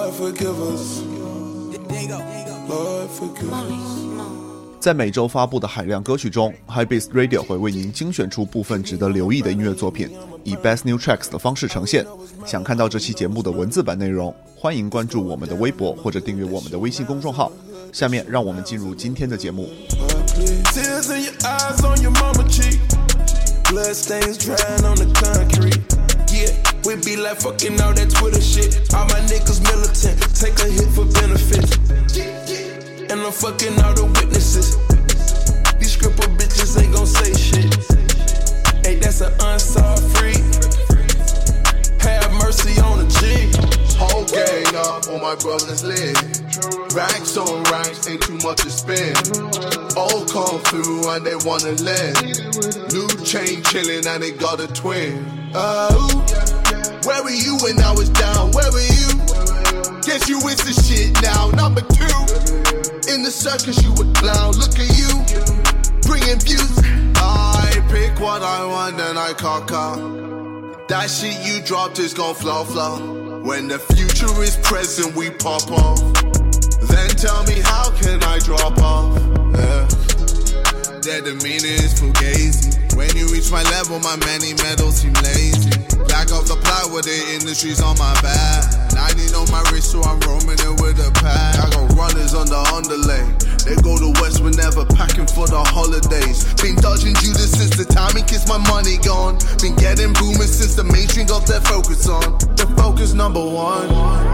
Lord forgive us. Lord forgive us. 在每周发布的海量歌曲中 Hypebeast Radio 会为您精选出部分值得留意的音乐作品，以 Best New Tracks 的方式呈现。想看到这期节目的文字版内容，欢迎关注我们的微博或者订阅我们的微信公众号。下面让我们进入今天的节目。 Tears in your eyes on your mama cheek, blood stains drying on the concrete. Yeah, we be like fucking all that Twitter shit. All my niggas militant, take a hit for benefits. And I'm fucking all the witnesses. These scripper bitches ain't gon' say shit. Hey, that's an unsolved freak. Have mercy on the G. Whole gang up on my brother's leg. Racks on racks, ain't too much to spend. All come through and they wanna lend. New chain chillin' and they got a twin. Where were you when I was down? Where were you? Guess you with the shit now. Number 2. In the circus you a clown. Look at you, bringing views. I pick what I want and I cock up. That shit you dropped is gon' flow. When the future is present we pop off. Then tell me how can I drop off? That the meaning is fugazi. When you reach my level my many medals seem lazy. Black off the plywood, the industry's on my back. 90 on my wrist, so I'm roaming it with a pack. I got runners on the underlay. They go to West whenever packing for the holidays. Been dodging Judas since the time he kissed my money gone. Been getting boomers since the mainstream got their focus on. The focus number 1.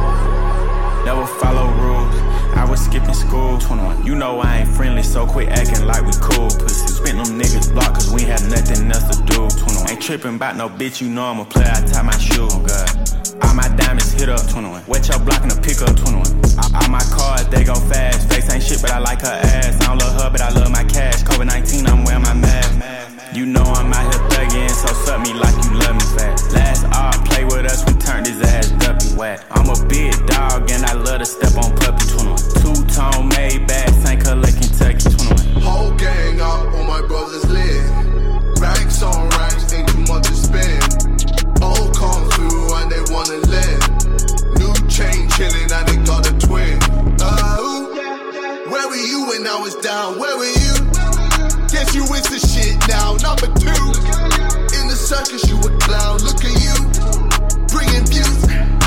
Never follow rules. I was skipping school. 21. You know I ain't friendly, so quit acting like we cool. Pussy spent them niggas block, cause we had nothing else to do. 21. Ain't tripping about no bitch, you know I'm a player, I tie my shoe. Oh God. All my diamonds hit up. 21. Wet your block in the pickup. 21. All my cars, they go fast. Face ain't shit, but I like her ass. I don't love her, but I love my cash. COVID-19, I'm wearing my mask. You know I'm out here thugging, so suck me like you love me fast. Last art, play with us, we turned his ass duppy whack. I'm a big dog and I love to step on puppy. 21. Two-tone made bag, St. Clair, Kentucky. 21. Whole gang up on my brother's leg. Racks on racks, ain't too much to spend. All come through and they wanna lend. New chain chillin' and they got a twin. Where were you when I was down? Where were you? Guess you with the shit now. Number 2. In the circus you a clown. Look at you, bringing views.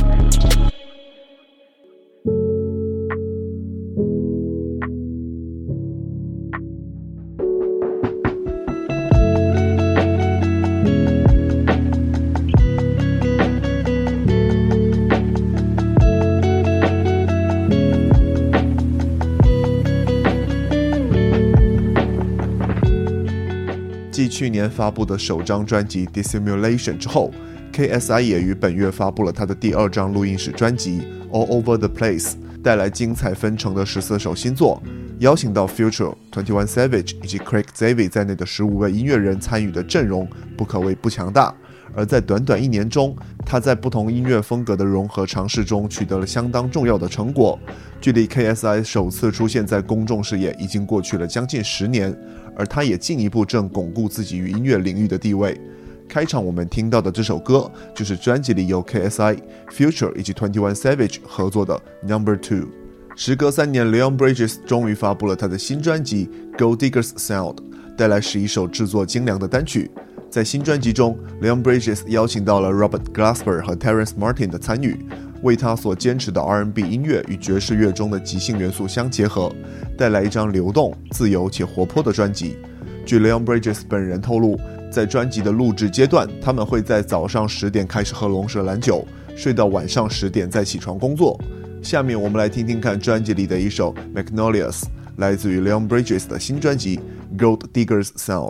继去年发布的首张专辑 Dissimulation 之后， KSI 也于本月发布了他的第2张录音室专辑 All Over the Place， 带来精彩纷呈的14首新作，邀请到 Future、21 Savage 以及 Craig Zavi 在内的15位音乐人参与的阵容不可谓不强大。而在短短1年中，他在不同音乐风格的融合尝试中取得了相当重要的成果。距离 KSI 首次出现在公众视野已经过去了将近10年，而他也进一步正巩固自己于音乐领域的地位。开场我们听到的这首歌就是专辑里由 KSI、Future 以及21 Savage 合作的 No. 2。时隔3年 Leon Bridges 终于发布了他的新专辑 Gold Diggers Sound， 带来11首制作精良的单曲。在新专辑中 Leon Bridges 邀请到了 Robert Glasper 和 Terrence Martin 的参与，为他所坚持的 R&B 音乐与爵士乐中的即兴元素相结合，带来一张流动、自由且活泼的专辑。据 Leon Bridges 本人透露，在专辑的录制阶段，他们会在早上10点开始喝龙舌兰酒，睡到晚上10点再起床工作。下面我们来听听看专辑里的一首 Magnolias， 来自于 Leon Bridges 的新专辑 Gold Diggers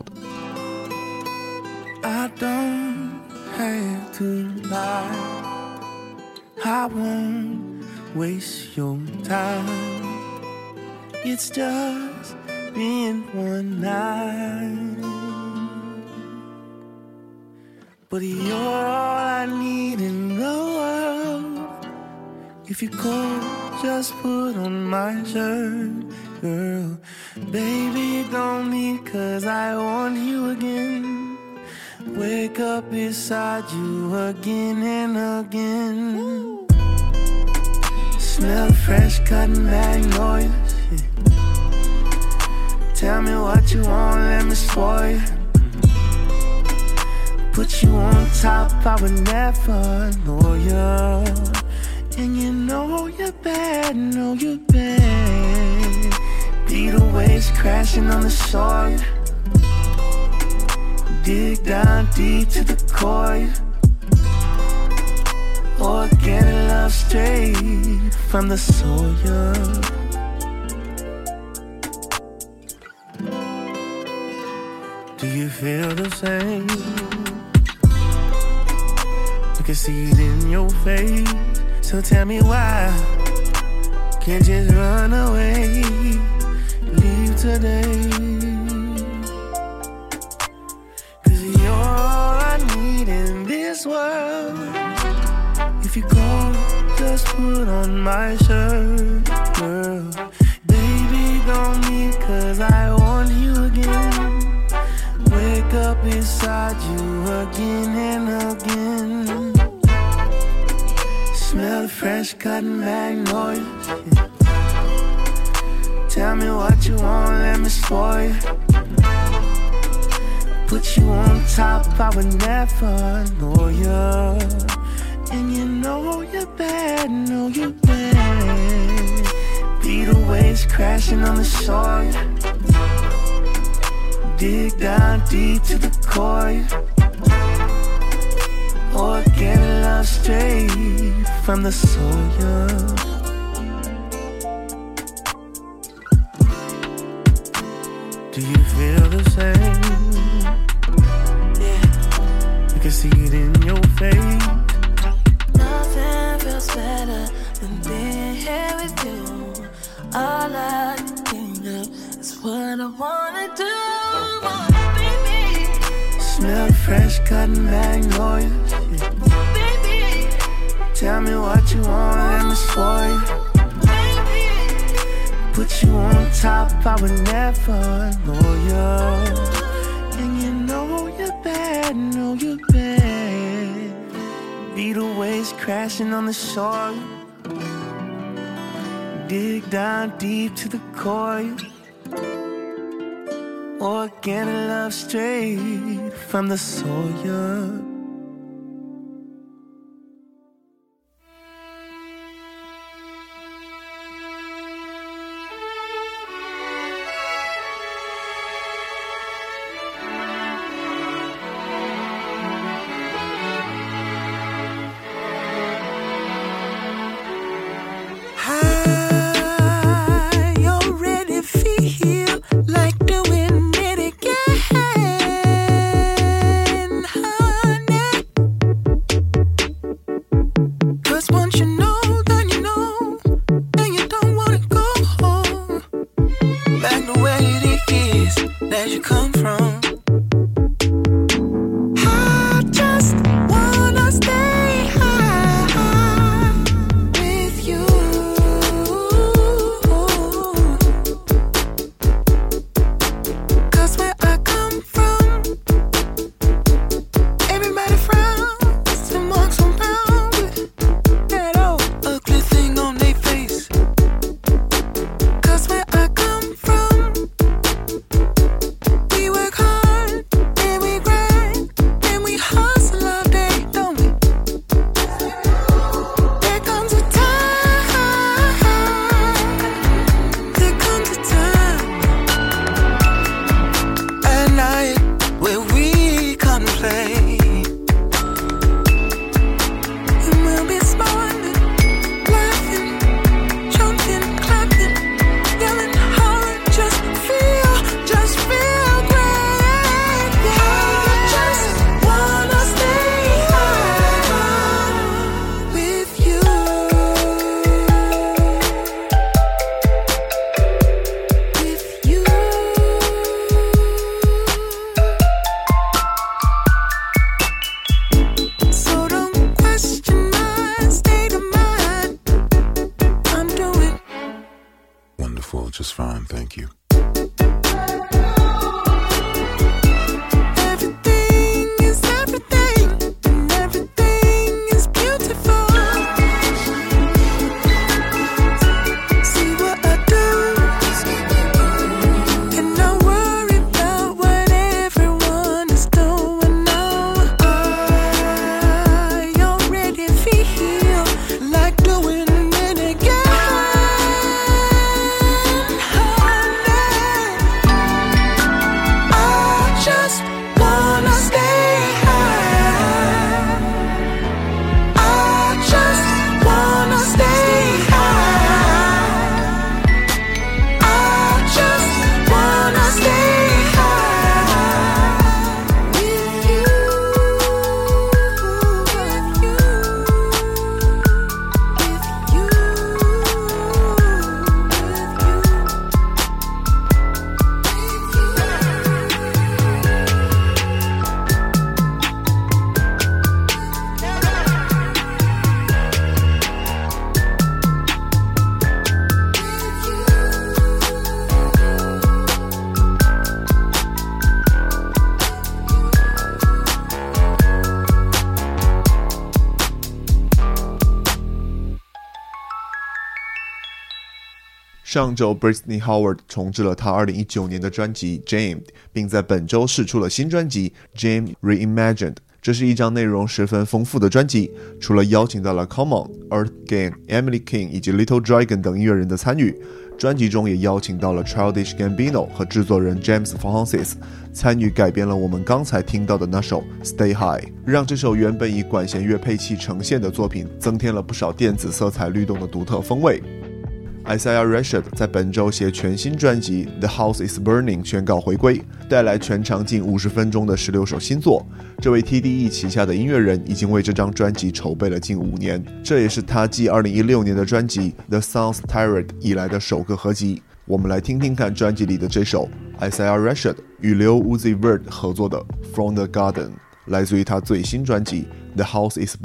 Sound。I don't have to lie, I won't waste your time. It's just been one night, but you're all I need in the world. If you could just put on my shirt, girl. Baby, don't leave 'cause I want you again.Wake up beside you again and again. Smell fresh cotton magnolias. Tell me what you want, let me spoil you. Put you on top, I would never know you. And you know you're bad, know you're bad. Beat the waves crashing on the soil. Dig down deep to the core. Organic love straight from the soil. Do you feel the same? I can see it in your face. So tell me why can't just run away, leave today. Cause you're all I need in this world. If you go, just put on my shirt, girl. Baby, don't leave cause I want you again. Wake up beside you again and again. Smell the fresh cotton magnolias. Tell me what you want, let me spoil you. Put you on top, I would never know you. And you know you're bad, know you're bad. Beat the waves crashing on the soil. Dig down deep to the core. Organic love straight from the soil. Do you feel the same? Yeah, I can see it in your face. Nothing feels better than being here with you. All I can think of is what I wanna do. Smell fresh cotton magnolias. Baby, tell me what you want, let me spoil you. Baby, put you on top, I would never know you. And you know you're bad, know you're bad. Beat the waves crashing on the shore. Dig down deep to the core. Organic love straight from the soil. 上周 Britney Howard 重置了她2019年的专辑 Jamed， 并在本周释出了新专辑 Jamed Reimagined。这是一张内容十分丰富的专辑，除了邀请到了 Common、Earth Gang、Emily King 以及 Little Dragon 等音乐人的参与，专辑中也邀请到了 Childish Gambino 和制作人 James Francis 参与改编了我们刚才听到的那首 Stay High， 让这首原本以管弦乐配器呈现的作品增添了不少电子色彩律动的独特风味。Isaiah Rashad 在本周携全新专辑 The House is Burning 宣告回归，带来全长近50分钟的16首新作。这位 TDE 旗下的音乐人已经为这张专辑筹备了近5年，这也是他继2016年的专辑 The Sounds Tirade 以来的首个合集。我们来听听看专辑里的这首 Isaiah Rashad 与Lil Uzi Vert 合作的 From the Garden， 来自于他最新专辑 The House is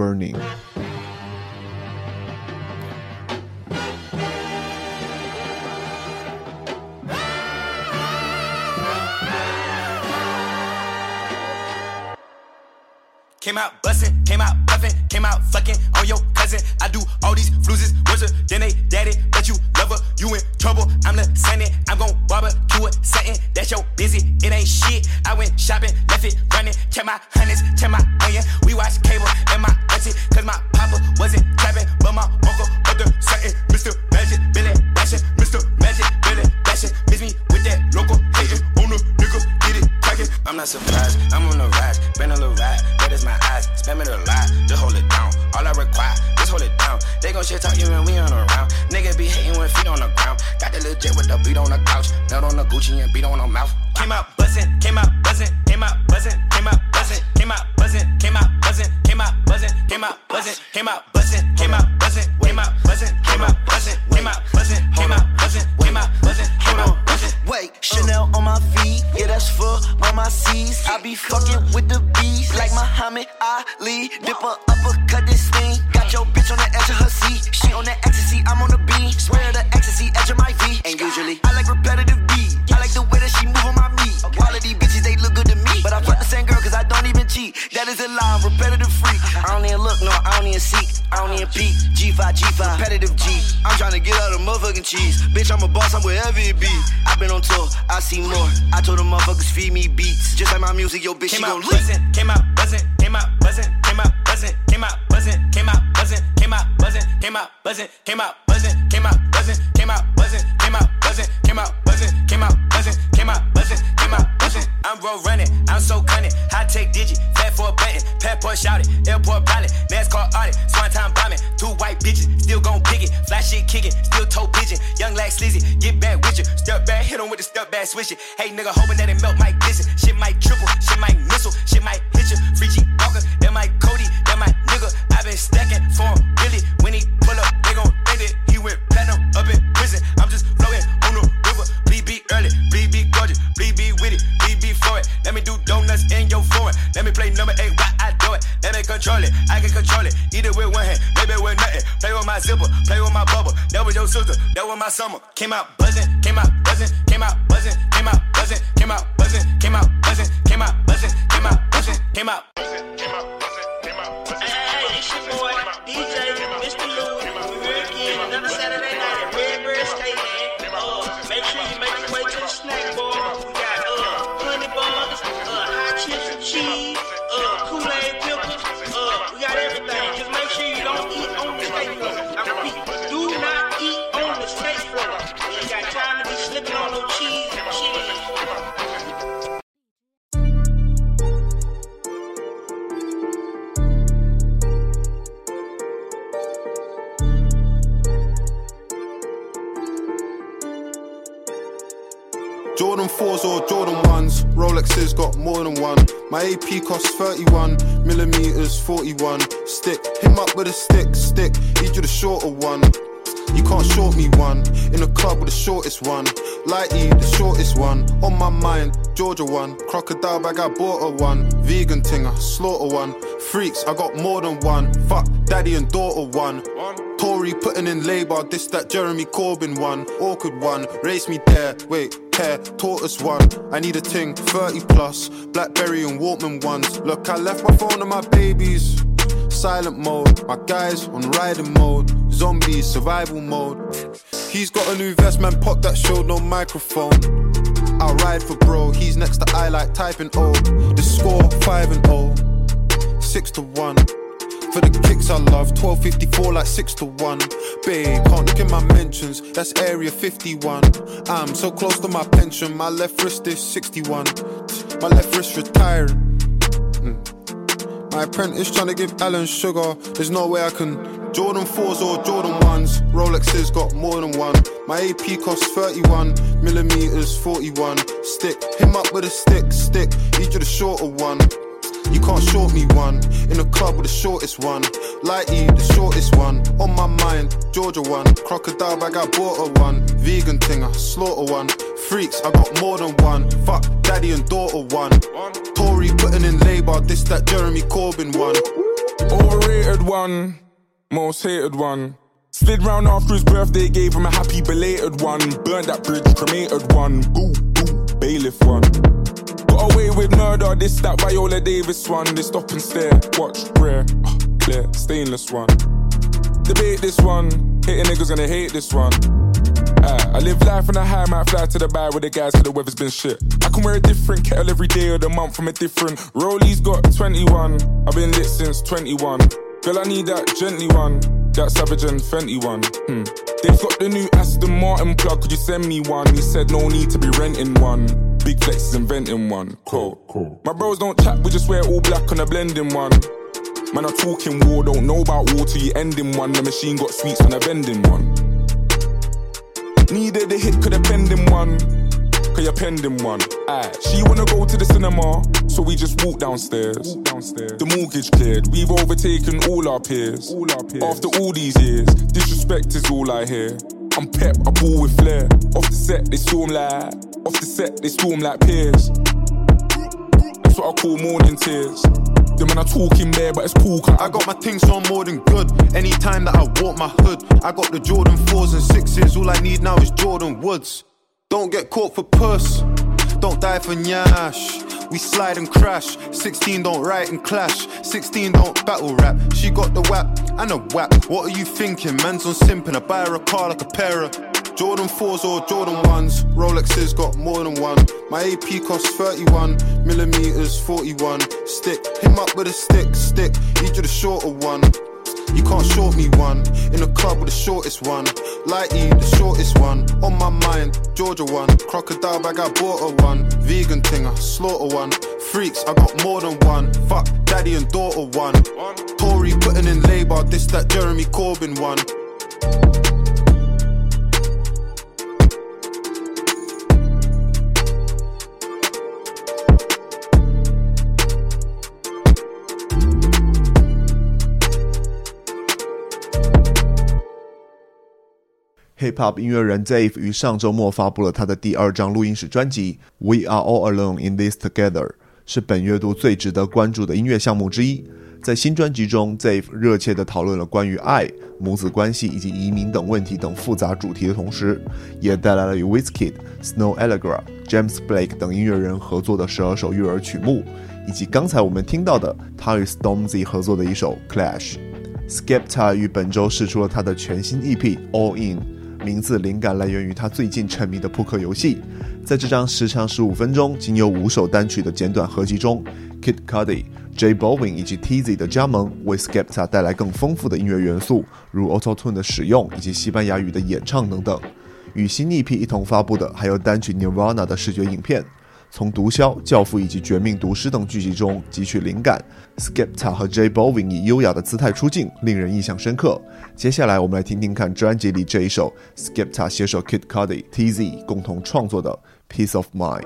Burning。Came out bustin', came out buffin', came out fucking on your cousin. I do all these fluses, worse than they daddy, but you love her, you in trouble. I'm the Sunny, I'm gon' barbecue it, satin, that's your busy, it ain't shit. I went shopping, left it running, check my hundreds, check my onion. We watch cable and my auntie, cause my papa wasn't trapping, but my uncle up the satin. Mr. Magic, Billy Bashing, Mr. Magic, Billy Bashing. Miss me with that local hating on the nigga, get it cracking. I'm not surprised, I'm on the rise, been a little ride, that is my eyes, spam it a lot, just hold it down. All I require, just hold it down. They gon' shit talk you when we on around. Nigga be hating with feet on the ground. Got the little jet with the beat on the couch, nut on the Gucci and beat on the mouth. Came out buzzin', came out buzzin', came out buzzin', came out buzzin', came out buzzin', came out buzzin', came out buzzin', came out buzzin', came out buzzin', came out buzzin', came out buzzin', came out buzzin', came out buzzin', came out buzzin', came out buzzin', came out buzzin'. Wait, Chanel on my feet, yeah that's for all my C's. I be fucking with the bees like Muhammad Ali. Dip her uppercut this thing. Got your bitch on the edge of her seat. She on the ecstasy, I'm on the beat. Swear the ecstasy, edge of my V. And usually I like repetitive beat. I like the way that she move on my meat. All of these bitches they look good to me, but I fuck the same girl cause I don't even cheat. That is a lie, I'm repetitive freak. I don't even look, no, I don't even seek. I don't even peek. G5, repetitive G. I'm tryna get out of motherfucking cheese. Bitch, I'm a boss, I'm wherever it be. I've been on tour, I see more. I told the motherfuckers feed me beats. Just like my music, yo bitch, she gon' leak. Came out buzzin', came out buzzin', came out buzzin', came out buzzin', came out buzzin', came out buzzin', came out buzzin', came out buzzin', came out buzzin', came out buzzin', came out buzzin', came out buzzin', came out buzzin', came out buzzin', came out buzzin'. I'm road running, I'm so cunning. High tech digit, fat for a button. Passport shouted, airport pilot, NASCAR audit, swan time bombing. 2 white bitches, still gon' pick it. Fly shit kicking, still toe pigeon. Young like sleazy, get back with you. Step back, hit him with the step back switch it. Hey nigga, hoping that it melt might glisten. Shit might triple, shit might missile, shit might hit you. Free G Walker, that might Cody, that my nigga. I been stacking for him, really. When he pull up, they gon' think that he went platinum up in prison. I'm just floating on the river. Bleed be early, bleed be gorgeous, bleed be with it, bleed be for it. Let me do donuts in your foreign. Let me play number 8 while I do it. Let me control it, I can control it. Eat it with one hand, maybe with nothing. Play with my zipper, play with my bubble. That was your sister, that was my summer. Came out buzzing, came out buzzing, came out buzzing, came out buzzing, came out buzzing, came out buzzing, came out buzzing, came out buzzing, came out buzzing, came out buzzing, came out buzzing. Hey, it's your boy, DJ, Mr. Louis. We're again another Saturday night at Redbird State. Make sure you make your way to the snack bar. We got honey buns, hot chips and cheese, Kool-Aid pickles. We got everything. Just make sure you don't eat on the skate floor. I repeat, do not eat on the skate floor. You ain't got time to be slipping on no cheese and cheese. Jordan 4s or Jordan 1s, Rolexes got more than one. My AP costs 31, millimeters 41. Stick, him up with a stick, need you the shorter one. You can't short me one, in the club with the shortest one. Lighty, the shortest one, on my mind, Georgia one. Crocodile bag, I bought her one. Vegan thing, I slaughter one. Freaks, I got more than one. Fuck, daddy and daughter one. Tory putting in labour, this that Jeremy Corbyn one. Awkward one, race me there, wait, care, tortoise one. I need a ting, 30 plus, Blackberry and Walkman ones. Look, I left my phone and my babies silent mode, my guys on riding mode. Zombies, survival mode. He's got a new vest, man, pop that showed no microphone. I ride for bro, he's next to I like typing O. The score 5-0, 6-1. For the kicks I love, 12.54 like 6-1. Babe, can't look at my mentions, that's area 51. I'm so close to my pension, my left wrist is 61. My left wrist retiring. My apprentice trying to give Alan sugar, there's no way I can. Jordan 4s or Jordan 1s, Rolexes got more than one. My AP costs 31mm, 41. Stick, him up with a stick, need you the shorter one. You can't short me one, in the club with the shortest one. Lighty, the shortest one, on my mind, Georgia one. Crocodile bag, I bought a one. Vegan thing, I slaughter one. Freaks, I got more than one. Fuck, daddy and daughter one. Tory putting in labour, this that Jeremy Corbyn one. Overrated one, most hated one. Slid round after his birthday, gave him a happy belated one. Burnt that bridge, cremated one. Boo, boo, bailiff one. Got away with murder, this that Viola Davis one. They stop and stare, watch, rare, clear, stainless one. Debate this one, hating niggas gonna hate this one. I live life on a high, might fly to the bar with the guys till the weather's been shit. I can wear a different kettle every day of the month from a different. Rollies got 21, I've been lit since 21. Girl, I need that gently one, that Savage and Fenty one. They've got the new Aston Martin plug, could you send me one? He said no need to be renting one. Big Flex is inventing one. Cool. My bros don't chat, we just wear all black on a blending one. Man, I'm talking war, don't know about war till you end in one. The machine got sweets on a vending one. Needed a hit, could have penned in one. Cause you're pending one. She wanna go to the cinema, so we just walk downstairs. The mortgage cleared, we've overtaken all our peers. After all these years, disrespect is all I hear. I'm pep, I ball with flair. Off the set, they storm like peers. That's what I call morning tears. Them men are talking there, but it's cool. I got my things so I'm more than good. Anytime that I walk my hood, I got the Jordan 4s and 6s. All I need now is Jordan Woods. Don't get caught for puss, don't die for nyash. We slide and crash, 16 don't write and clash, 16 don't battle rap. She got the whap and a whap. What are you thinking? Man's on simping, I buy her a car like a pair of Jordan 4s or Jordan 1s, Rolexes got more than one. My AP costs 31mm, 41. Stick, him up with a stick, need you the shorter one. You can't short me one, in the club with the shortest one. Lighty, the shortest one, on my mind, Georgia one. Crocodile bag, I bought a one. Vegan thing, I slaughter one. Freaks, I got more than one. Fuck, daddy and daughter one. Tory putting in labour, this that Jeremy Corbyn one. Hip-Hop 音乐人 Dave 于上周末发布了他的第2张录音室专辑 We Are All Alone in This Together， 是本月度最值得关注的音乐项目之一。在新专辑中 Dave 热切地讨论了关于爱、母子关系以及移民等问题等复杂主题的同时，也带来了与 Wizkid、Snow Allegra、James Blake 等音乐人合作的12首悦耳曲目，以及刚才我们听到的他与 Stormzy 合作的一首 Clash。Skepta 于本周释出了他的全新 EP All In，名字灵感来源于他最近沉迷的扑克游戏。在这张时长15分钟、仅有5首单曲的简短合集中 ，Kid Cudi、J Balvin 以及 TZ 的加盟，为 Skepta 带来更丰富的音乐元素，如 Auto-Tune 的使用以及西班牙语的演唱等等。与新 EP 一同发布的还有单曲 Nirvana 的视觉影片。从毒枭、教父以及绝命毒师等剧集中汲取灵感 ，Skepta 和 J Balvin 以优雅的姿态出镜，令人印象深刻。接下来我们来听听看专辑里这一首 Skepta 携手 Kid Cudi、TZ 共同创作的 Peace of Mind。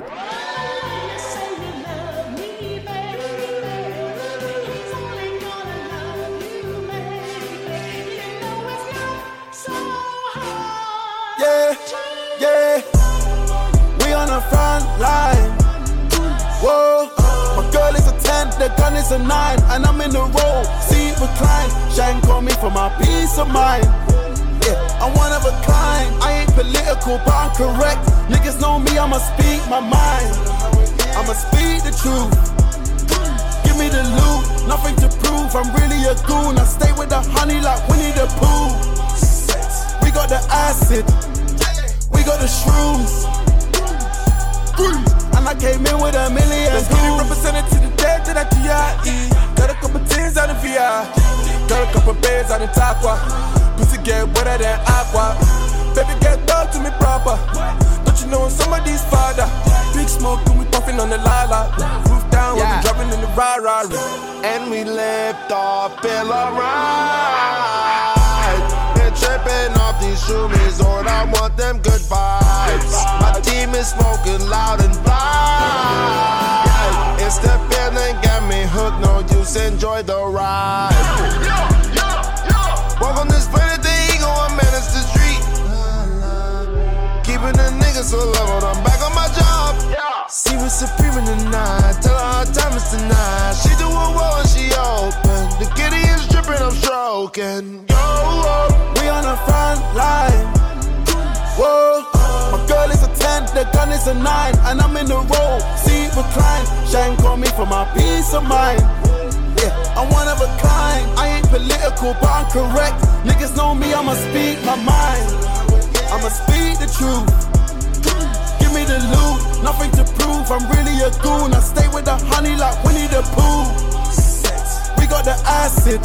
Whoa, my girl is a 10, the gun is a 9, and I'm in the roll, seat recline. Shine call me for my peace of mind. Yeah, I'm one of a kind. I ain't political, but I'm correct. Niggas know me, I'ma speak my mind. I'ma speak the truth. Give me the loot, nothing to prove. I'm really a goon. I stay with the honey like Winnie the Pooh. We got the acid. got the shrooms. And I came in with $1 million. Let's get it represented to the dead to that GIE. Got a couple tins out in VI. Got a couple beds out in Taqua. Pussy get wetter than aqua. Baby get dog to me proper. Don't you know somebody's father? Big smoke and we puffin' on the lala. Roof down when we dropping in the rah-rah. And we left off in a ride. Been tripping off these shroomies, Lord, I want them good vibes. My team is smoking loud and bright. It's the feeling, get me hooked, no use, enjoy the ride. Walk on this planet, the ego, I manage the street. Keeping the niggas so leveled, I'm back on my job. See what's supreme in the night, tell her how time is tonight. She do a roll and she open. The kitty is dripping, I'm stroking. Yo, we on the front line. Whoa, my girl is a 10, the gun is a 9, and I'm in the road, see recline. Shine call me for my peace of mind. Yeah, I'm one of a kind. I ain't political, but I'm correct. Niggas know me, I'ma speak my mind. I'ma speak the truth. Give me the loot, nothing to prove. I'm really a goon. I stay with the honey like Winnie the Pooh. We got the acid,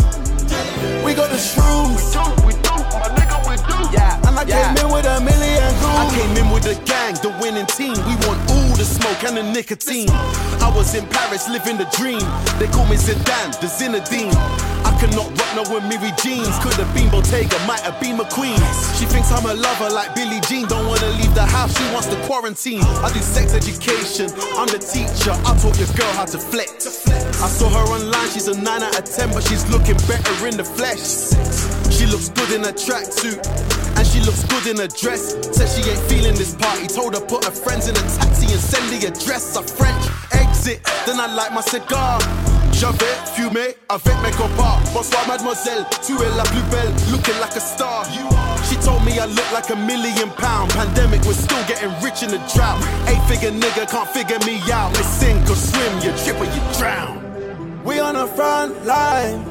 we got the shrooms. we do, my nigga, we do. Yeah, and I came in with $1 million goons. I came in with the gang, the winning team. We want all the smoke and the nicotine. I was in Paris living the dream. They call me Zidane, the Zinedine. I cannot rock no with Miri jeans. Could have been Bottega, might have been McQueen. She thinks I'm a lover like Billie Jean. Don't wanna leave the house, she wants to quarantine. I do sex education, I'm the teacher. I taught your girl how to flex. I saw her online, she's a 9 out of 10, but she's looking better in the flesh. She looks good in a tracksuit, and she looks good in a dress. Said she ain't feeling this party. Told her put her friends in a taxi and send the address. A French exit, then I light my cigar. J'avais fumé avec mes copains. Bonsoir mademoiselle, tu es la plus belle, looking like a star. She told me I look like £1 million. Pandemic, we're still getting rich in the drought. 8-figure nigga can't figure me out. They sink or swim, you trip or you drown. We on the front line.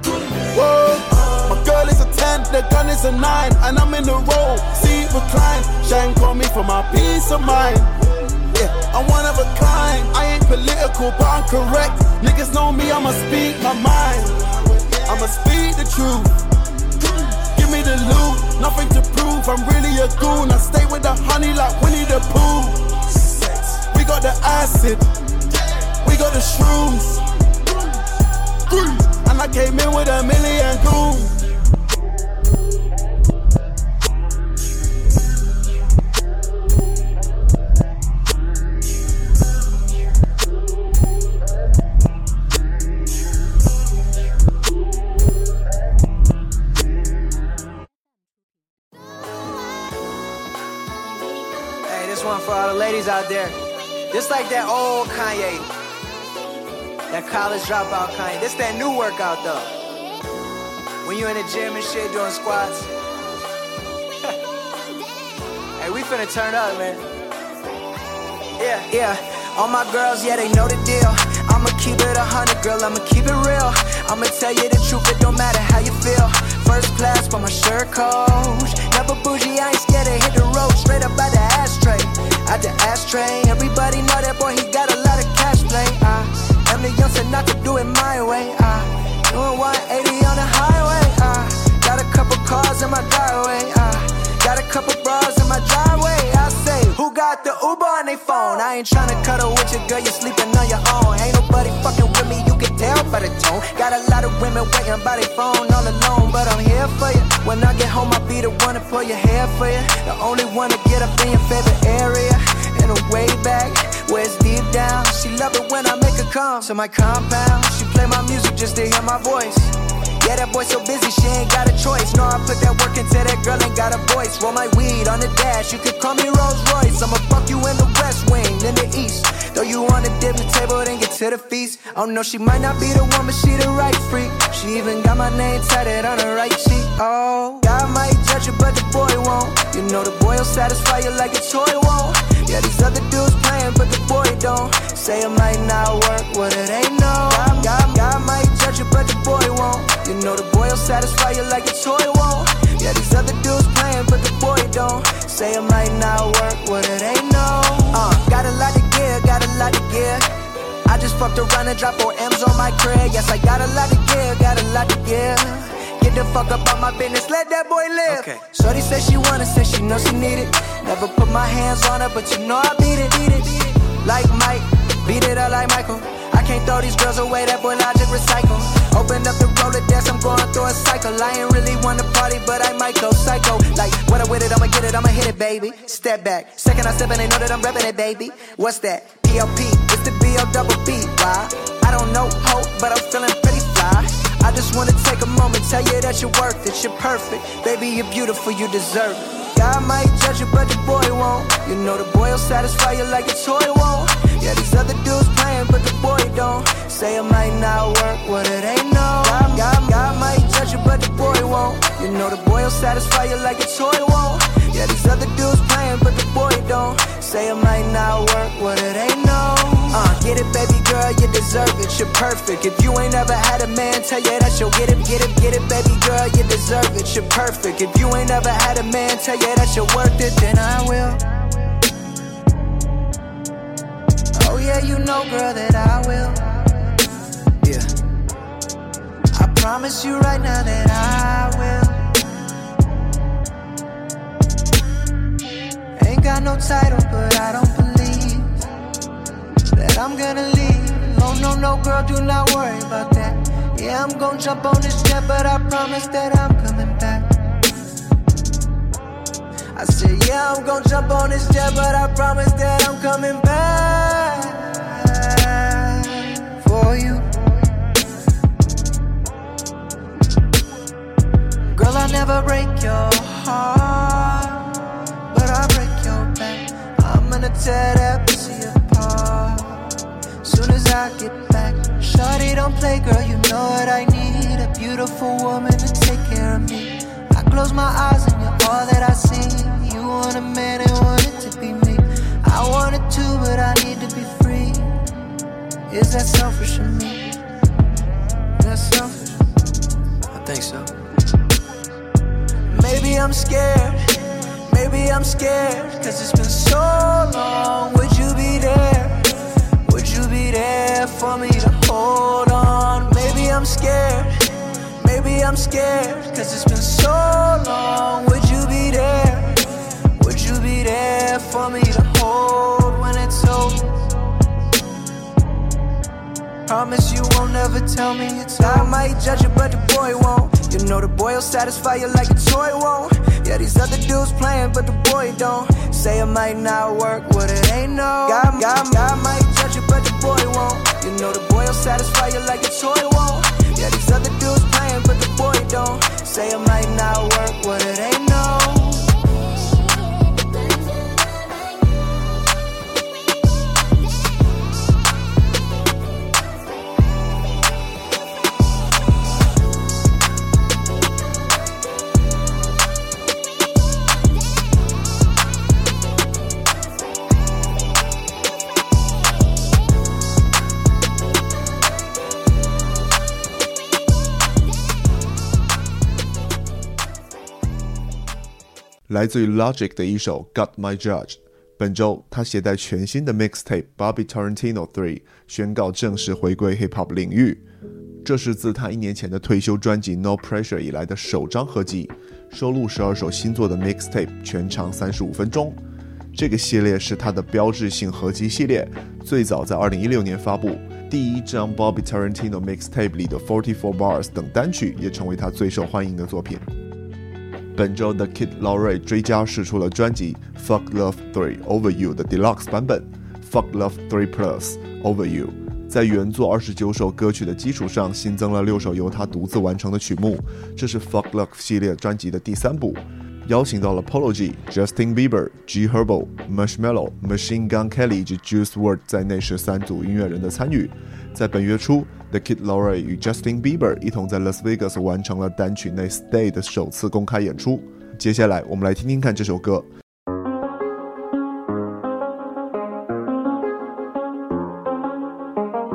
Whoa, my girl is a 10, the gun is a 9, and I'm in the road, see recline. Shine call me for my peace of mind. Yeah, I'm one of a kind. I ain't political, but I'm correct. Niggas know me, I'ma speak my mind. I'ma speak the truth. Give me the loot, nothing to prove. I'm really a goon. I stay with the honey like Winnie the Pooh. We got the acid, we got the shrooms. And I came in with $1 million goons. One for all the ladies out there. Just like that old Kanye, that college dropout Kanye. This that new workout though. When you in the gym and shit doing squats. Hey, we finna turn up, man. Yeah. All my girls, yeah, they know the deal. I'ma keep it 100, girl, I'ma keep it real. I'ma tell you the truth, it don't matter how you feel. First class for my shirt coach. Never bougie, I ain't scared to hit the road. Straight up by the ashtray. At the ashtray, everybody know that boy, he got a lot of cash play. I'm the youngster, not to do it my way. Doing 180 on the highway. Got a couple cars in my driveway. Got a couple bras in my driveway. I say, who got the Uber on their phone? I ain't tryna cuddle with your girl, you're sleeping on your own. Ain't nobody fucking with me, you can tell by the tone. Got a lot of women waiting by their phone all alone, but I'm here for you. When I get home, I'll be the one to pull your hair for you. The only one to get up in your favorite area. In a way back, where it's deep down. She love it when I make her come to my compound. She play my music just to hear my voice. Yeah, that boy so busy, she ain't got a choice. No, I put that work into that girl, ain't got a voice. Roll my weed on the dash, you could call me Rolls Royce. I'ma fuck you in the West Wing, in the East. Throw you on the dinner table, then get to the feast. I don't know, she might not be the one, but she the right freak. She even got my name tatted on her right cheek. Oh, God might judge you, but the boy won't. You know the boy will satisfy you like a toy won't. Yeah, these other dudes playing, but the boy don't. Say it might not work, what it ain't no. God might judge you, but the boy won't. You know the boy will satisfy you like a toy won't. Yeah, these other dudes playing, but the boy don't. don't. Say it might not work, what it ain't no. Got a lot to give, got a lot to give. I just fucked around and dropped 4 M's on my crib. Yes, I got a lot to give, got a lot to give. Get the fuck up on my business, let that boy live. Okay. Shorty said she want it, said she know she need it. Never put my hands on her, but you know I beat it. Like Mike, beat it up like Michael. I can't throw these girls away, that boy logic recycle. Open up the Rolodex, I'm going through a cycle. I ain't really wanna party, but I might go psycho. Like, when I'm with it, I'ma get it, I'ma hit it, baby. Step back, second I step and they know that I'm reppin' it, baby. What's that? PLP, it's the B-O-double-B, why? I don't know hope, but I'm feeling pretty fly. I just wanna take a moment, tell you that you're worth it, you're perfect. Baby, you're beautiful, you deserve it. God might judge you, but the boy won't. You know the boy will satisfy you like a toy won't. Yeah, these other dudes playing, but the boy don't. Say it might not work, what it ain't no. God might judge you, but the boy won't. You know the boy will satisfy you like a toy won't. Yeah, these other dudes playing, but the boy don't. Say it might not work, what it ain't no. Get it, baby girl, you deserve it, you're perfect. If you ain't ever had a man tell you that you'll get it, baby girl, you deserve it, you're perfect. If you ain't ever had a man tell you that you're worth it, then I will. Oh yeah, you know, girl, that I will. Yeah, I promise you right now that I will. Ain't got no title, but I don't believe that I'm gonna leave. No, girl, do not worry about that. Yeah, I'm gonna jump on this jet, but I promise that I'm coming back. I said, yeah, I'm gonna jump on this jet, but I promise that I'm coming back for you. Girl, I never break your heart, but I break your back. I'm gonna tear that pussy apart soon as I get back. Shawty, don't play, girl, you know what I need. A beautiful woman to take care of me. I close my eyes and you're all that I see. You want a man and want it to be me. I want it too, but I need to be free. Is that selfish of me? Is that selfish? I think so. Maybe I'm scared, cause it's been so long. Would you be there? Would you be there for me to hold on? Maybe I'm scared, cause it's been so long. Would you be there? Would you be there for me to hold when it's over? Promise you won't ever tell me it's over. I might judge you, but the boy won't. You know the boy will satisfy you like a toy won't. Yeah, these other dudes playing, but the boy don't. Say it might not work, what it ain't no. God might judge you, but the boy won't. You know the boy will satisfy you like a toy won't. Yeah, these other dudes playing, but the boy don't. Say it might not work, what it ain't no. 来自于 Logic 的一首 Got My Judge。本周他携带全新的 mixtape Bobby Tarantino 3宣告正式回归 hip hop 领域。这是自他1年前的退休专辑 No Pressure 以来的首张合辑，收录12首新作的 mixtape， 全长35分钟。这个系列是他的标志性合辑系列，最早在2016年发布。第一张 Bobby Tarantino mixtape 里的44 Bars 等单曲也成为他最受欢迎的作品。本周的 Kid Laroi 追加释出了专辑 Fuck Love 3 Over You 的 Deluxe 版本 Fuck Love 3 Plus Over You， 在原作29首歌曲的基础上新增了6首由他独自完成的曲目，这是 Fuck Love 系列专辑的第3部，邀请到了 Polo G、Justin Bieber、G Herbo、Marshmello、Machine Gun Kelly 以及 Juice WRLD 在内13组音乐人的参与。在本月初 The Kid Laroi 与 Justin Bieber 一同在 Las Vegas 完成了单曲内 Stay 的首次公开演出。接下来我们来听听看这首歌。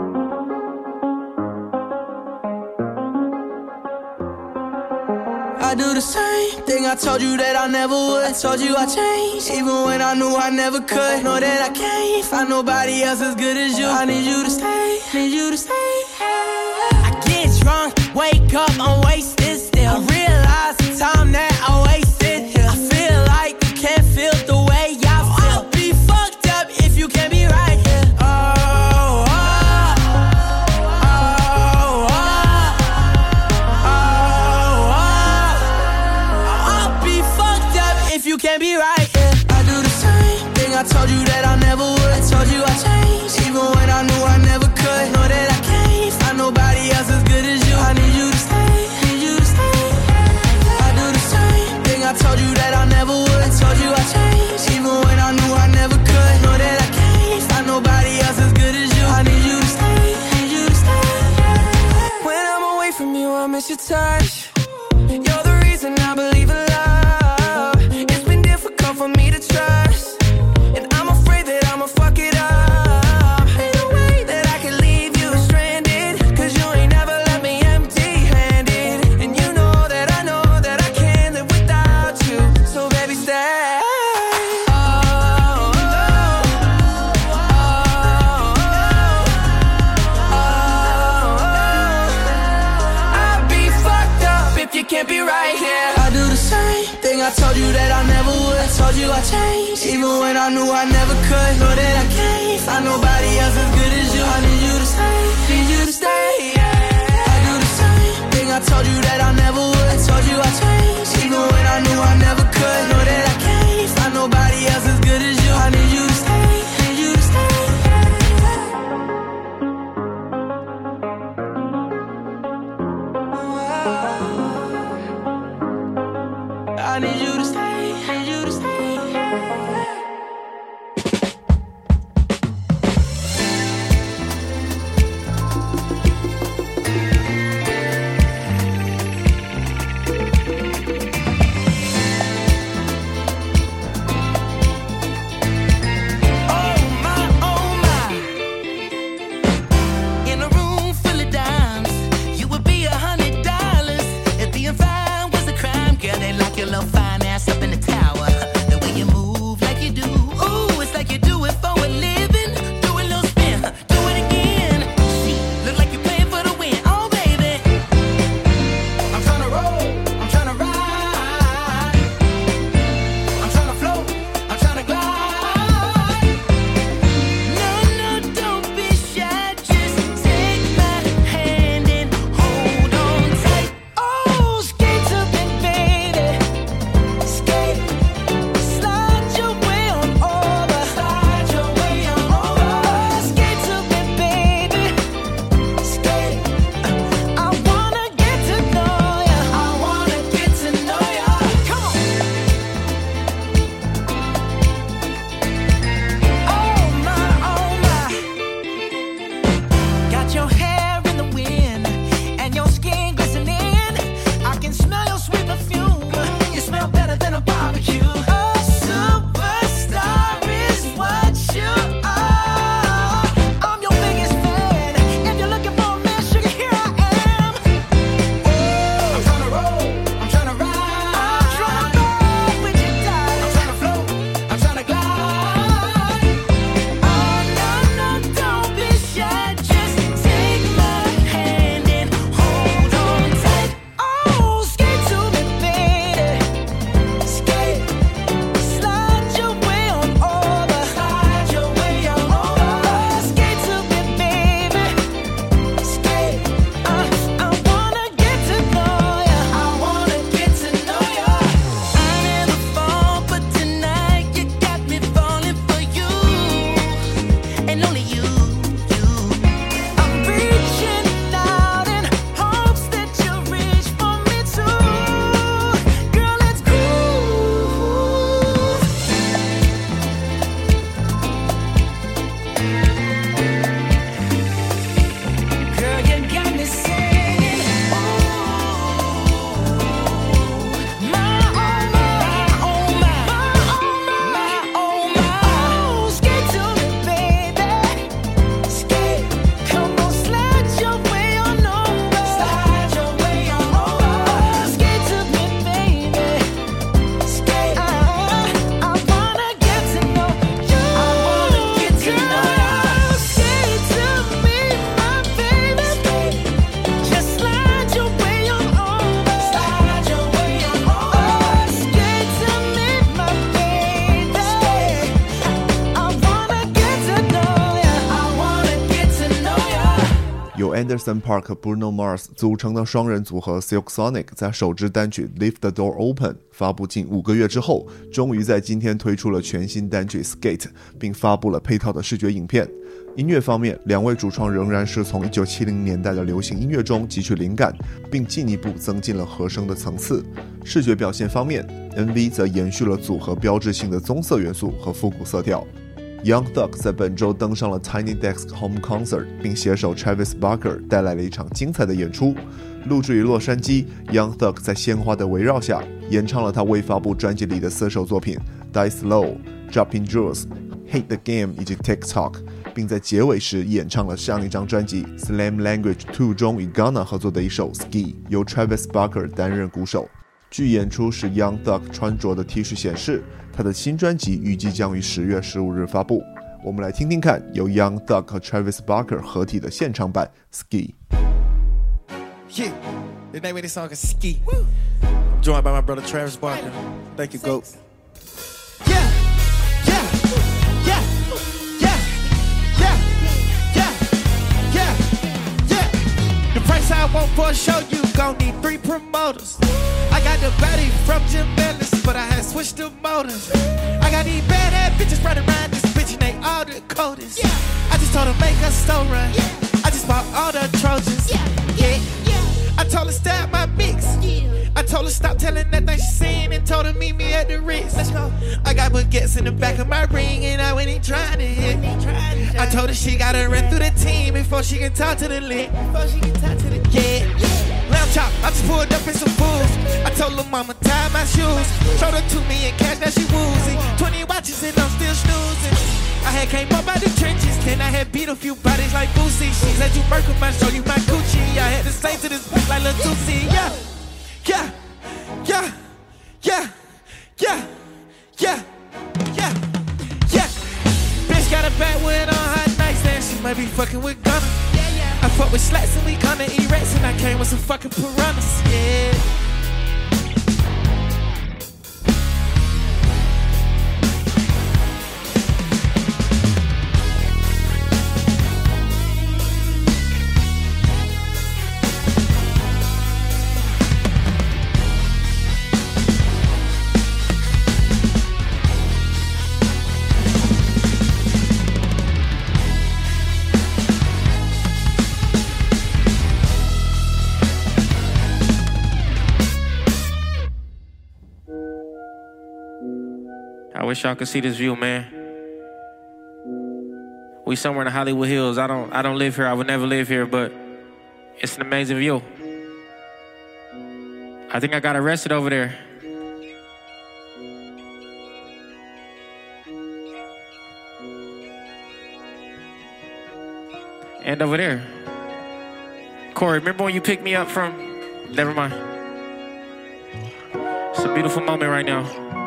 I I do the same thing I told you that I never would. I told you I changed, even when I knew I never could. Know that I can't find nobody else as good as you. I need you to stay, need you to stay. I get drunk, wake up, I'm wasted still. I realize the time that I wasted here. I feel like you can't feel the way I feel. I'll be fucked up if you can't be right here. You can't be right, yeah. I do the same thing I told you that I never would. I told you I changed, even when I knew I never could. Know that I can't find nobody else as good as you. I need you to stay, need you to stay. I do the same thing I told you that I never would. I told you I changed, even when I knew I never could. Know that I can't find nobody else as good as you. I need you to stay, need you to stay. When I'm away from you, I miss your touch. You're the reason I believe in love. For me to trust, and I'm afraid that I'ma fuck it up. Ain't no way that I can leave you stranded, cause you ain't never left me empty-handed. And you know that I can't live without you. So baby, stay. I'd be fucked up if you can't be right here. I do the same thing I told you that I never would. I told you I changed, even when I knew I never could. Know that I can't find nobody else as good as you. I need you to stay, need you to stay, yeah. I do the same thing I told you that I never would. I told you I changed, even when I knew I never could. Know that I can't find nobody else as good as you. I need you to stay, need you to stay. I need you to stay, need you to stay. Fine Anderson Paak Bruno Mars 组成的双人组合 Silk Sonic 在首支单曲 Leave the Door Open 发布近5个月之后，终于在今天推出了全新单曲 Skate， 并发布了配套的视觉影片。音乐方面，两位主创仍然是从1970年代的流行音乐中汲取灵感，并进一步增进了和声的层次。视觉表现方面， MV 则延续了组合标志性的棕色元素和复古色调。Young Thug 在本周登上了 Tiny Desk Home Concert， 并携手 Travis Barker 带来了一场精彩的演出。录制于洛杉矶， Young Thug 在鲜花的围绕下演唱了他未发布专辑里的4首作品 Die Slow、Dropping Jewels、Hate the Game 以及 TikTok， 并在结尾时演唱了上一张专辑 Slam Language 2 中与 Ghana 合作的一首 Ski， 由 Travis Barker 担任鼓手。据演出时 Young Thug 穿着的 T 恤显示，他的新专辑预计将于10月15日发布。我们来听听看由 Young Thug 和 Travis Barker 合体的现场版 Ski。Yeah, the name of this song is Ski. I'm joined by my brother Travis Barker. Thank you, GOAT. Yeah, yeah, yeah, yeah, yeah, yeah, yeah, yeah. The price I want for a show, you gon' need 3 promoters. I got the body from Jim Ellis, but I had switched the motors. I got these bad ass bitches running around this bitch and they all the coldest. I just told her make her store run. I just bought all the Trojans. Yeah. I told her stop my mix. I told her stop telling that thing she seen and told her meet me at the Ritz. Let's go. I got baguettes in the back of my ring and I went and tried to hit. I told her she gotta run through the team before she can talk to the lit. Yeah. Lamb chop, I just pulled up in some fools. I told her mama tie my shoes. Showed her $2 million cash, now she woozy. 20 watches and I'm still snoozing. I had came up out the trenches, then I had beat a few bodies like Boosie. She said you Merkle, man, show you my Gucci. I had to say to this bitch like Lil Tusi. Yeah, yeah, yeah, yeah, yeah, yeah, yeah, yeah. Bitch got a backwood on her nightstand, she might be fucking with Gunna. I fuck with slats and we gonna eat rats and I came with some fucking piranhas, yeah. I wish y'all could see this view, man. We somewhere in the Hollywood Hills. I don't live here. I would never live here, but it's an amazing view. I think I got arrested over there. And over there. Corey, remember when you picked me up from... Never mind. It's a beautiful moment right now.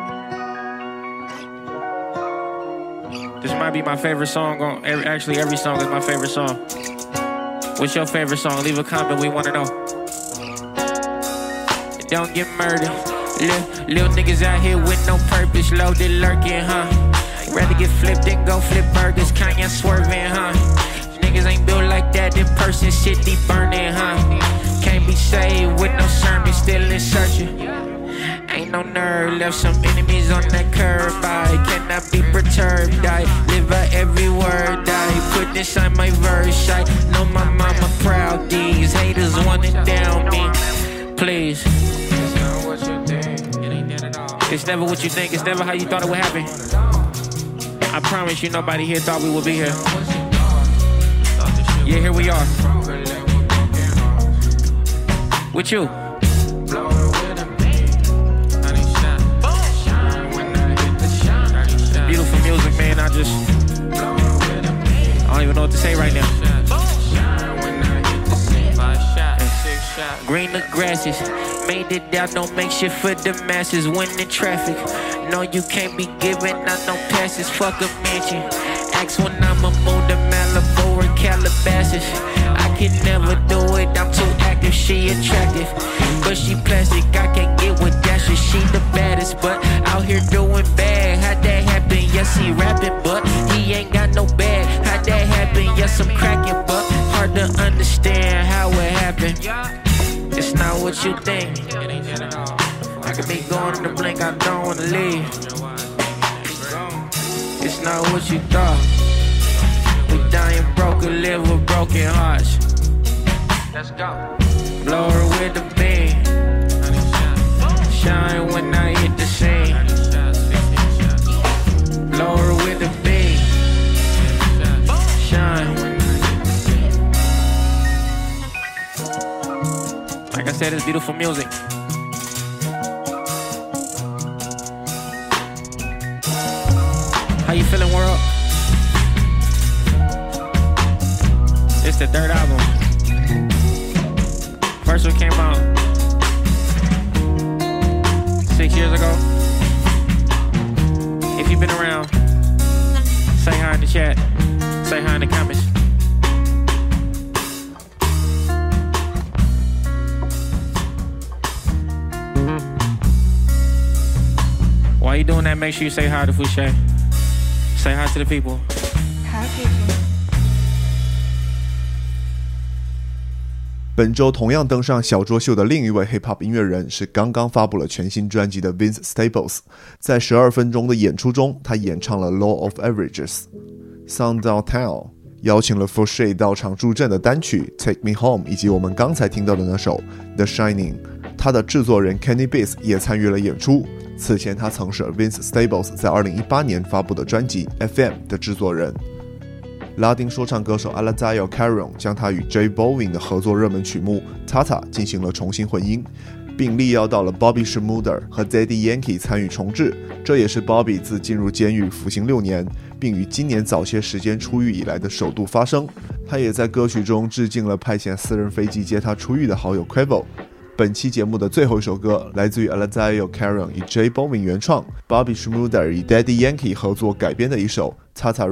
This might be my favorite song. Actually, every song is my favorite song. What's your favorite song? Leave a comment, we wanna know. Don't get murdered. Little niggas out here with no purpose, loaded lurking, huh? Rather get flipped than go flip burgers, Kanye swerving, huh? Niggas ain't built like that in person, shit deep burning, huh? Can't be saved with no sermon, still in searching. Ain't no nerve, left some enemies on that curb. I cannot be perturbed, I live by every word. I put this on my verse, I know my mama proud. These haters wanting down me, please. It's never what you think, it's never how you thought it would happen. I promise you nobody here thought we would be here. Yeah, here we are. With you. Beautiful music, man. I don't even know what to say right now. Green the grasses, made it out, don't make shit for the masses. Winning traffic, no you can't be giving out no passes. Fuck a mansion, ask when I'ma move to Malibu or Calabasas. I can never do it, I'm too active. She attractive, but she plastic. I can't get with Dasher, she the baddest, but out here doing bad. How'd that happen? Yes, he rapping, but he ain't got no bag. How'd that happen? Yes, I'm cracking, but hard to understand how it happened. It's not what you think. I could be going in the blink, I don't wanna leave. It's not what you thought. We dying broken, live with broken hearts. Let's go. Blow her with the beam. Shine when I hit the scene. Blow her with the beam. Shine when I hit the scene. Like I said, it's beautiful music. How you feeling, world? It's the third album. First one came out 6 years ago. If you've been around, say hi in the chat. Say hi in the comments. While you doing that, make sure you say hi to Fouché. Say hi to the people. Hi, people. 本周同样登上小桌秀的另一位 hip hop 音乐人是刚刚发布了全新专辑的 Vince Staples。在12分钟的演出中，他演唱了 Law of Averages、Sound Out Town， 邀请了 Fouché 到场助阵的单曲 Take Me Home， 以及我们刚才听到的那首 The Shining。他的制作人 Kenny Beats 也参与了演出。此前他曾是 Vince Staples 在2018年发布的专辑 FM 的制作人。拉丁说唱歌手 Alazayo Carrion 将他与 J Balvin 的合作热门曲目 Tata 进行了重新混音，并力邀到了 Bobby Schmurder 和 Daddy Yankee 参与重制，这也是 Bobby 自进入监狱服刑6年，并于今年早些时间出狱以来的首度发声。他也在歌曲中致敬了派遣私人飞机接他出狱的好友 Quavo。本期节目的最后一首歌来自于 Alazayo Carrion 以 J Balvin 原创， Bobby Schmurder 与 Daddy Yankee 合作改编的一首 Tata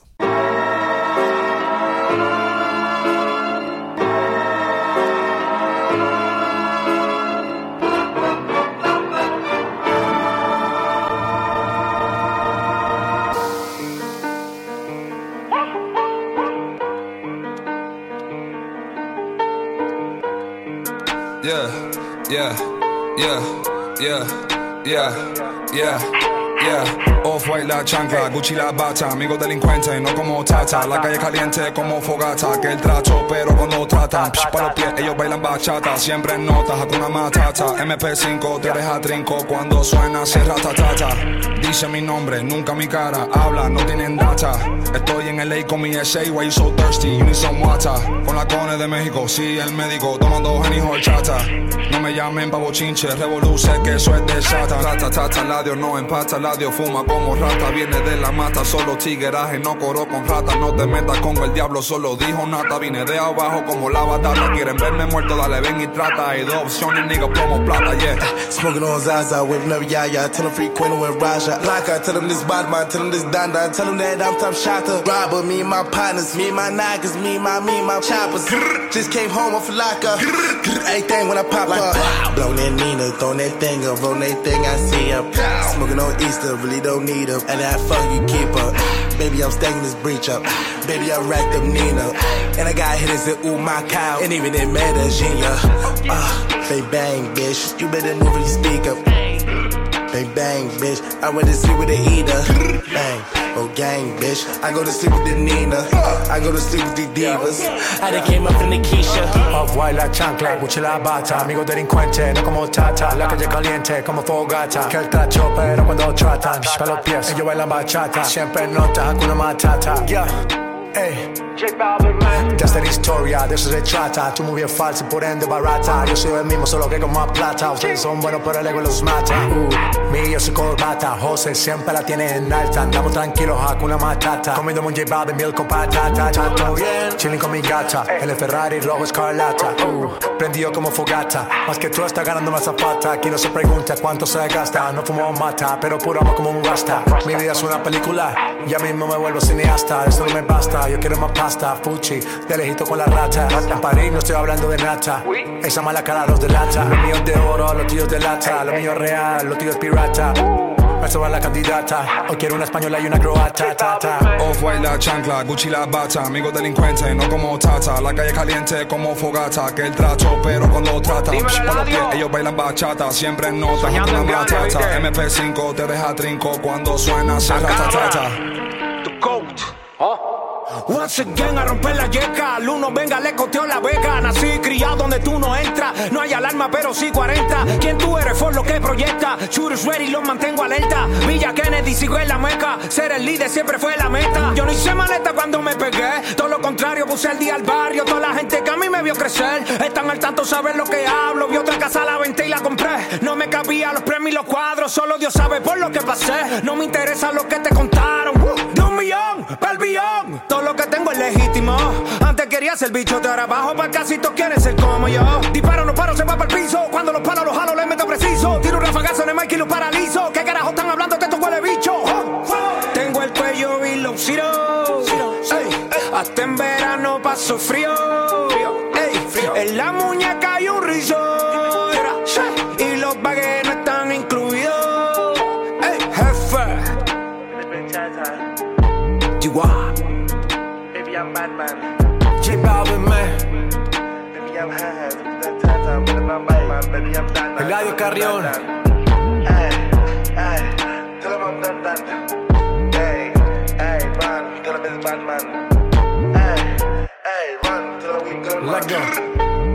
Remix。Off-white la chancla, Gucci la bata, amigo delincuente, no como Tata. La calle caliente como fogata, que el tracho, pero cuando tratan, pa' los pies, ellos bailan bachata. Siempre en notas, Hakuna Matata. MP5, te deja trinco cuando suena, cierra tatata. Dice mi nombre, nunca mi cara, habla, no tienen data. Estoy en LA con mi SA, why you so thirsty, you need some water. Con la cone de México, sí, el médico, tomando Henny horchata. No me llamen pa' bochinche, revoluce, que eso es de Satan. Tata, tata, ladio no empata, ladio fuma como rata, viene de la mata, solo tigueraje, no coro con rata. No te metas con el diablo, solo dijo nata. Vine de abajo como la batata, quieren verme muerto, dale ven y trata. Hay dos opciones, nigga, plomo plata, yeah. Smoking on Zaza, whipping up Yaya, tell them free Quino and Raja. Like I tell them this Badman, tell them this Danda, tell them that I'm top shotter. Robber, me and my partners, me and my niggas, me and my choppers. Just came home off a locker, everything when I pop up. Blow that Nina, throw that thing up, roll that thing I see up. Smoking on Easter, really don't need up. And that fuck you keep up. Baby, I'm stacking this breach up. Baby, I racked up Nina. And I got hitters that ooh my cow. And even in Medellin, they bang, bitch. You better move when you speak up. They bang, bitch. I went to sleep with the eater. Bang. Oh gang, bitch. I go to sleep with the Nina. I go to sleep with the divas. I done came up in the Keisha. Off-white la chancla, Gucci la bata. Amigo delincuente, no como Tata. La calle caliente como fogata. Que el tracho, pero cuando tratan, pa' los pies, ellos bailan bachata. Siempre en nota, Hakuna Matata. Yeah, ey. De esta historia, de eso se trata. Tu movie es falsa y por ende barata. Yo soy el mismo, solo que con más plata. Ustedes son buenos, pero el ego los mata. Yo soy corbata, José siempre la tiene en alta. Andamos tranquilos, Hakuna Matata. Comiendo un J Balvin, miel con patata. Todo bien, chilling con mi gata. El Ferrari rojo escarlata. Prendido como fogata. Más que tú estás ganando más zapata. Aquí no se pregunta cuánto se gasta. No fumo mata, pero puro amo como un rasta. Mi vida es una película, ya mismo me vuelvo cineasta. Esto no me basta, yo quiero más pasta. Fuchi, de lejito con la rata. En París no estoy hablando de nata. Esa mala cara los delata. Lo mío es de oro, lo tuyo es de lata. Lo mío es real, lo tuyo es pirata. beso a la candidata. Hoy quiero una española y una croata. Off-white la chancla, Gucci la bata. Amigo delincuente, no como Tata. La calle caliente como fogata. Que el trato, pero cuando trata pa' los pies, ellos bailan bachata. Siempre en nota, una matata. MP5 te deja trinco cuando suena ratatata. Once again a romper la yeca. Al uno venga le coteó la beca. Nací criado donde tú no entras. No hay alarma pero sí 40. ¿Quién tú eres? For lo que proyecta. Shooters ready, los mantengo alerta. Villa Kennedy sigo en la meca. Ser el líder siempre fue la meta. Yo no hice maleta cuando me pegué. Todo lo contrario, puse el día al barrio. Toda la gente que a mí me vio crecer están al tanto, saben lo que hablo. Vi otra casa, la venté y la compré. No me cabía los premios y los cuadros. Solo Dios sabe por lo que pasé. No me interesa lo que te contaron. De 1 millón pa'l billón. Todo lo que tengo es legítimo. Antes quería ser bicho, de ahora abajo para casi todos quieren ser como yo. Disparo, no paro, se va para el piso. Cuando los palos los jalo, les meto preciso. Tiro un rafagazo en el mic y lo paralizo. ¿Qué carajo están hablando que esto huele bicho? Tengo el cuello y los ciro. Hasta en verano paso frío. En la muñeca hay un rizo. Y los baguettes no están incluidos. Jefe. Chihuahua. Baby, I'm Batman. J Balvin, man. Baby, I'm high. Baby, I'm Batman. Baby, I'm Batman. Eladio Carrión. Hey, hey, tell him I'm done. Hey, hey, run, tell him it's Batman. Hey, hey, run, tell him we good. Let go.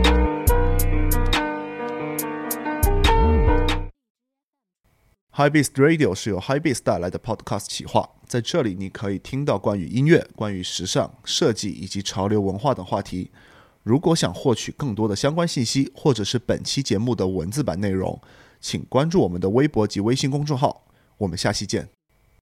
Hypebeast Radio 是由 Hypebeast 带来的 Podcast 企划，在这里你可以听到关于音乐、关于时尚、设计以及潮流文化等话题。如果想获取更多的相关信息，或者是本期节目的文字版内容，请关注我们的微博及微信公众号。我们下期见。